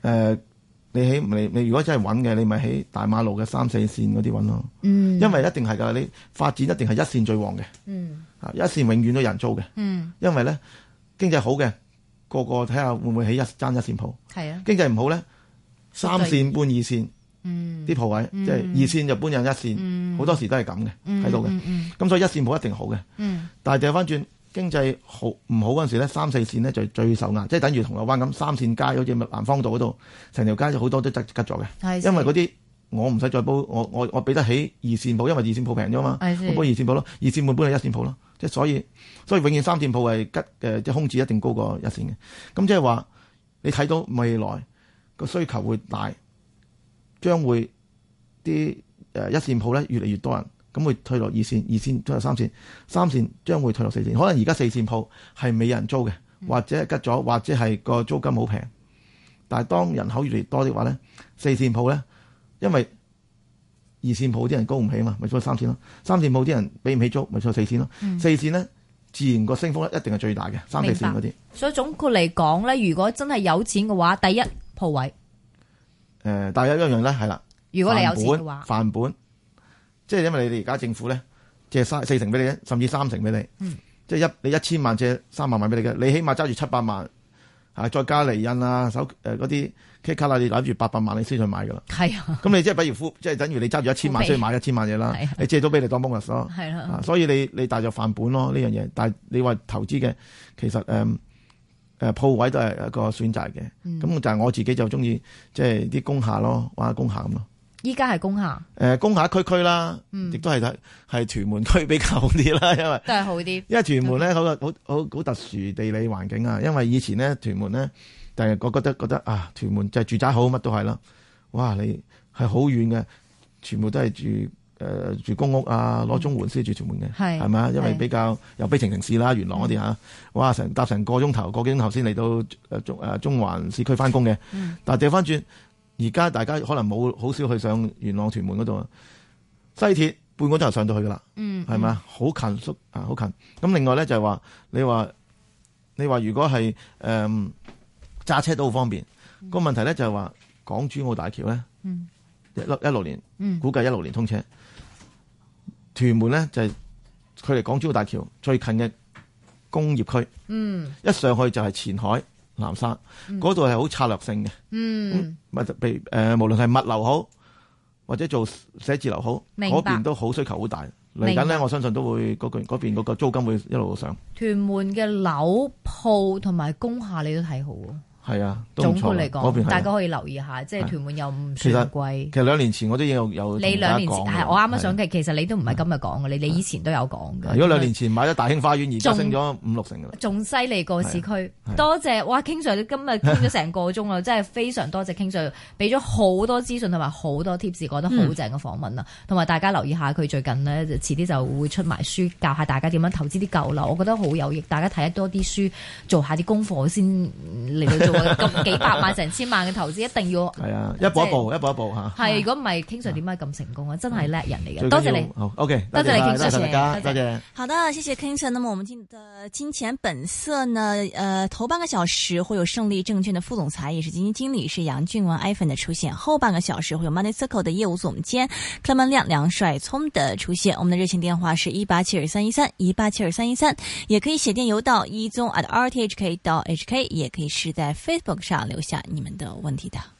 你如果真係揾嘅，你咪喺大馬路嘅3、4線嗰啲揾咯。因為一定係㗎，你發展一定係一線最旺嘅。一線永遠都有人租嘅。因為咧經濟好嘅，個睇下會唔會起一線鋪。係啊。經濟唔好咧，3線搬2線。啲鋪位即係2線就搬入1線，好多時都係咁嘅喺度嘅。咁所以一線鋪一定好嘅。但係掉翻轉。經濟好唔好嗰陣時咧，3、4線咧就最受壓，即係等於銅鑼灣咁3線街，好似南方道嗰度，成條街就好多都吉咗嘅。因為嗰啲我唔使再煲，我俾得起2線鋪，因為2線鋪平咗嘛，我煲2線鋪咯，2線半搬去1線鋪咯。即係所以永遠3線鋪係吉嘅，即係空置一定高過1線嘅。咁即係話你睇到未來個需求會大，將會啲1線鋪咧越嚟越多人。咁會退落2線，2線退落3線，3線將會退落4線。可能而家4線鋪係冇人租嘅，或者吉咗，或者係個租金好平。但係當人口越嚟越多的話咧，4線鋪咧，因為2線鋪啲人供唔起嘛，咪租3線咯。3線鋪啲人俾唔起租，咪租4線咯。4線咧，自然個升幅咧一定係最大嘅3、4線嗰啲。所以總括嚟講咧，如果真係有錢嘅話，第一鋪位。但係有一樣咧係啦，如果你有錢嘅話，範本。即係因為你哋而家政府咧借4成俾你，甚至3成俾你。即係你1000萬借3萬萬俾你嘅，你起碼揸住700萬再加厘印啊，嗰啲 K 卡啦，你攬住800萬你先去買噶啦。 係啊， 咁你即係比如即係等於你揸住1000萬先去買1000萬嘢啦。你借咗俾你當 bonus 咯。係啦。所以你帶著飯本咯呢樣嘢，但係你話投資嘅其實鋪位都係一個選擇嘅。咁但係我自己就中意即係啲工廈咯，玩下工廈咁咯。 依家係工廈， 工廈區啦，亦都係屯門區比較好啲啦，因為都係好啲。因為屯門咧好特殊地理環境啊，因為以前咧屯門咧，但係我覺得啊，屯門就係住宅好，乜都係啦。哇，你係好遠嘅，全部都係住公屋啊，攞綜援先住屯門嘅，係咪啊？因為比較有悲情城市啦，元朗嗰啲嚇，哇，搭成個幾鐘頭先嚟到中環市區翻工嘅。但係掉翻轉。而家大家可能好少去上元朗屯門嗰度，西鐵半個鐘頭上到去噶啦，係咪啊？好近好近。咁另外咧就係話，你話如果係揸車都好方便。個問題咧就係話港珠澳大橋咧，16年估計16年通車。屯門咧就係距離港珠澳大橋最近嘅工業區，一上去就係前海。南沙嗰度係好策略性嘅，無論係物流好或者做寫字樓好，嗰邊都好需求好大。嚟緊咧，我相信都會嗰邊嗰個租金會一路上。屯門嘅樓鋪同埋工廈你都睇好喎。 係啊， 總括嚟講，大家可以留意下，即係屯門又唔算貴。 其實2年前我都有你2年前係我啱啱想嘅，其實你都唔係今日講嘅，你以前都有講嘅。 如果2年前買咗大興花園，而家升咗5-6成㗎啦，仲犀利過市區。多謝哇，King Sir 今日傾咗成個鐘啦，真係非常多謝 King Sir 俾咗好多資訊同埋好多 tips，覺得好正嘅訪問啦。同埋大家留意下佢最近呢，遲啲就會出埋書，教下大家點樣投資啲舊樓，我覺得好有益。大家睇多啲書，做下啲功課先嚟到做。咁幾百萬成千萬嘅投資一定要係啊，一步一步嚇。 係，如果唔係 King Sir 點解咁成功啊？真係叻人嚟嘅。多謝你。 好 OK， 多謝你 King Sir， 大家，多謝。 好的，謝謝 King Sir。那麼我們今日的金錢本色呢？頭半個小時會有勝利證券的副總裁，也是基金經理是楊俊文 iPhone 的出現。後半個小時會有 Money Circle 的業務總監 Clement 梁帥聰的出現。我們的熱線電話是1872313，1872313，也可以寫電郵到1宗@rthk.hk，也可以是在 Facebook 上留下你們的問題的。